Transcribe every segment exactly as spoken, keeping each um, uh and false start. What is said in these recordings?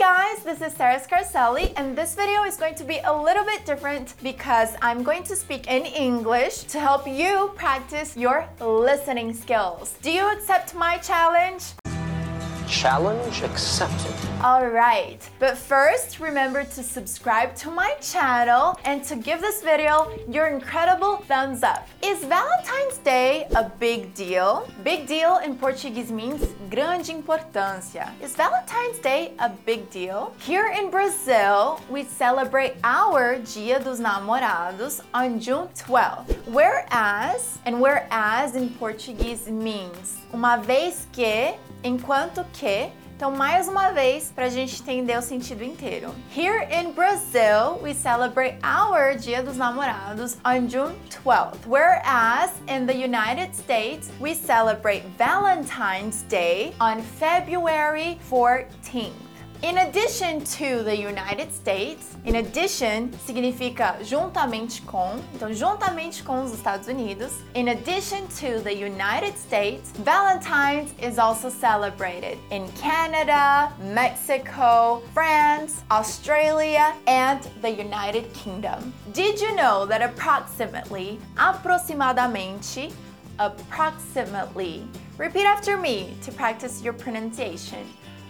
guys, this is Sarah Scarcelli, and this video is going to be a little bit different because I'm going to speak in English to help you practice your listening skills. Do you accept my challenge? Challenge accepted. Alright, but first remember to subscribe to my channel and to give this video your incredible thumbs up. Is Valentine's Day a big deal? Big deal in Portuguese means grande importância. Is Valentine's Day a big deal? Here in Brazil, we celebrate our Dia dos Namorados on June twelfth. Whereas, and whereas in Portuguese means uma vez que, enquanto que. Então, mais uma vez, para a gente entender o sentido inteiro. Here in Brazil, we celebrate our Dia dos Namorados on June twelfth. Whereas in the United States, we celebrate Valentine's Day on February fourteenth. In addition to the United States, in addition significa juntamente com, então juntamente com os Estados Unidos. In addition to the United States, Valentine's is also celebrated in Canada, Mexico, France, Australia, and the United Kingdom. Did you know that approximately, aproximadamente, approximately, repeat after me to practice your pronunciation.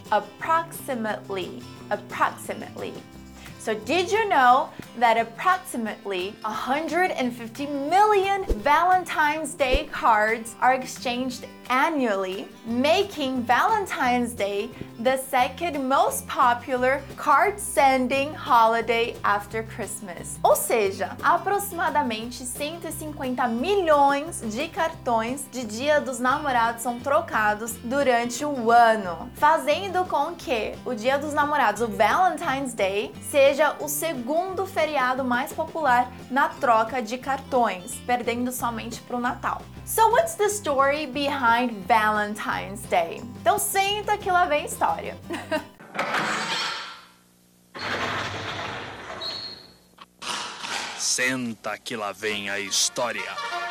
Approximately, approximately. So did you know that approximately one hundred fifty million Valentine's Day cards are exchanged annually, making Valentine's Day the second most popular card-sending holiday after Christmas? Ou seja, aproximadamente cento e cinquenta milhões de cartões de Dia dos Namorados são trocados durante o ano, fazendo com que o Dia dos Namorados, o Valentine's Day, seja o segundo feriado mais popular na troca de cartões, perdendo somente para o Natal. So what's the story behind Valentine's Day? Então senta que lá vem a história. Senta que lá vem a história.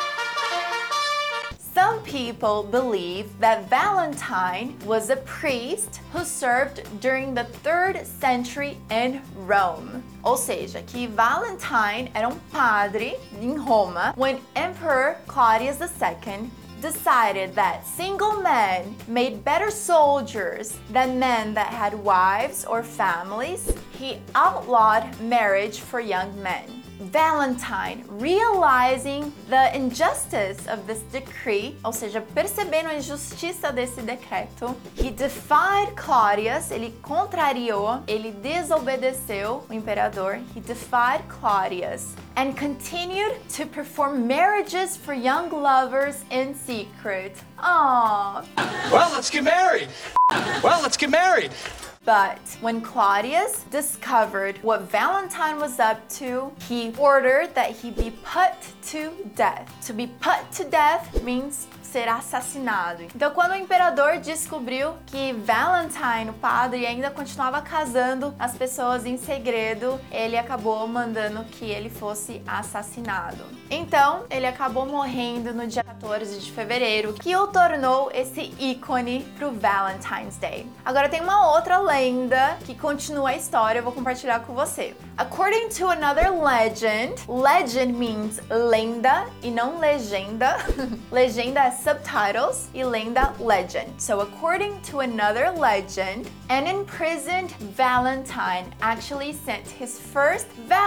Some people believe that Valentine was a priest who served during the third century in Rome. Ou seja, que Valentine era um padre em Roma when Emperor Claudius the Second decided that single men made better soldiers than men that had wives or families. He outlawed marriage for young men. Valentine, realizing the injustice of this decree, ou seja, percebendo a injustiça desse decreto, he defied Claudius, ele contrariou, ele desobedeceu o imperador, he defied Claudius, and continued to perform marriages for young lovers in secret. Aww. Well, let's get married. Well, let's get married. But when Claudius discovered what Valentine was up to, he ordered that he be put to death. To be put to death means ser assassinado. Então, quando o imperador descobriu que Valentine, o padre, ainda continuava casando as pessoas em segredo, ele acabou mandando que ele fosse assassinado. Então, ele acabou morrendo no dia quatorze de fevereiro, que o tornou esse ícone pro Valentine's Day. Agora tem uma outra lenda que continua a história, eu vou compartilhar com você. According to another legend, legend means lenda e não legenda. Legenda é subtitles e lenda legend. So according to another legend, an imprisoned Valentine actually sent his first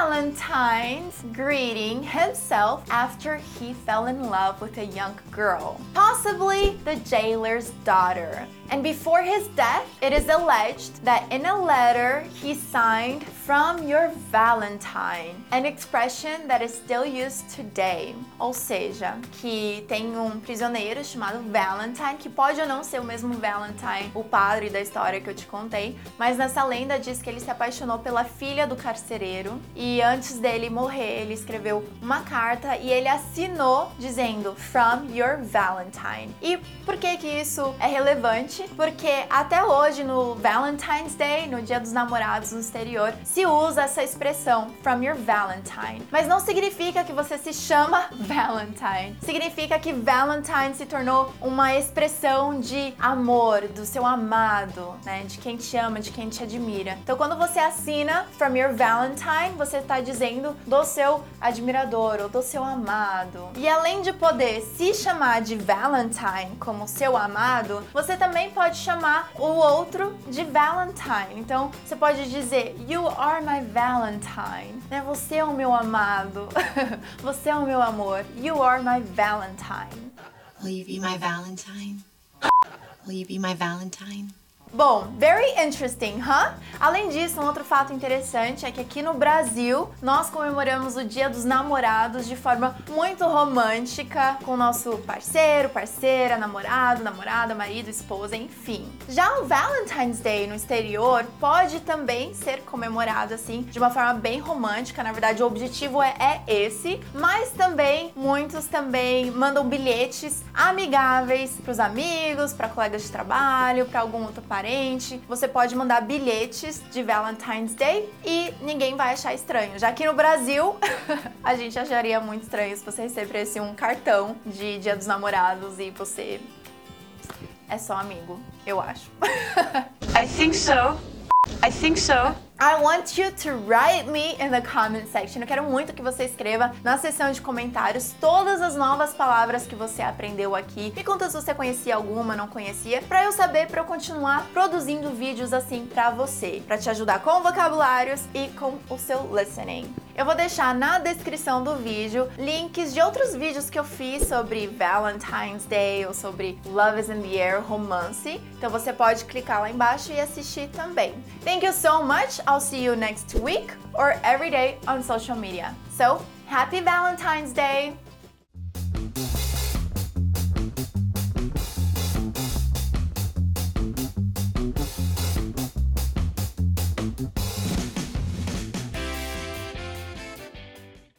Valentine's greeting himself after he fell in love with a young girl, possibly the jailer's daughter. And before his death, it is alleged that in a letter he signed "From your Valentine," an expression that is still used today. Ou seja, que tem um prisioneiro chamado Valentine, que pode ou não ser o mesmo Valentine, o padre da história que eu te contei, mas nessa lenda diz que ele se apaixonou pela filha do carcereiro e antes dele morrer, ele escreveu uma carta e ele assinou dizendo "From your Valentine." E por que que isso é relevante? Porque até hoje, no Valentine's Day, no Dia dos Namorados no exterior, se se usa essa expressão from your Valentine. Mas não significa que você se chama Valentine. Significa que Valentine se tornou uma expressão de amor, do seu amado, né? De quem te ama, de quem te admira. Então, quando você assina from your Valentine, você está dizendo do seu admirador ou do seu amado. E além de poder se chamar de Valentine como seu amado, você também pode chamar o outro de Valentine. Então, você pode dizer You are my Valentine. Né? Você é o meu amado. Você é o meu amor. You are my Valentine. Will you be my Valentine? Will you be my Valentine? Bom, very interesting, huh? Além disso, um outro fato interessante é que aqui no Brasil, nós comemoramos o Dia dos Namorados de forma muito romântica, com o nosso parceiro, parceira, namorado, namorada, marido, esposa, enfim. Já o Valentine's Day no exterior pode também ser comemorado assim, de uma forma bem romântica, na verdade o objetivo é, é esse, mas também, muitos também mandam bilhetes amigáveis para os amigos, para colegas de trabalho, para algum outro parente. Você pode mandar bilhetes de Valentine's Day e ninguém vai achar estranho. Já que no Brasil, a gente acharia muito estranho se você recebesse um cartão de Dia dos Namorados e você é só amigo, eu acho. I think so. I think so. I want you to write me in the comment section. Eu quero muito que você escreva na seção de comentários todas as novas palavras que você aprendeu aqui. Me conta se você conhecia alguma, não conhecia, pra eu saber, pra eu continuar produzindo vídeos assim pra você, pra te ajudar com vocabulários e com o seu listening. Eu vou deixar na descrição do vídeo links de outros vídeos que eu fiz sobre Valentine's Day ou sobre Love is in the Air, romance. Então você pode clicar lá embaixo e assistir também. Thank you so much. I'll see you next week or every day on social media. So, happy Valentine's Day! Thank you.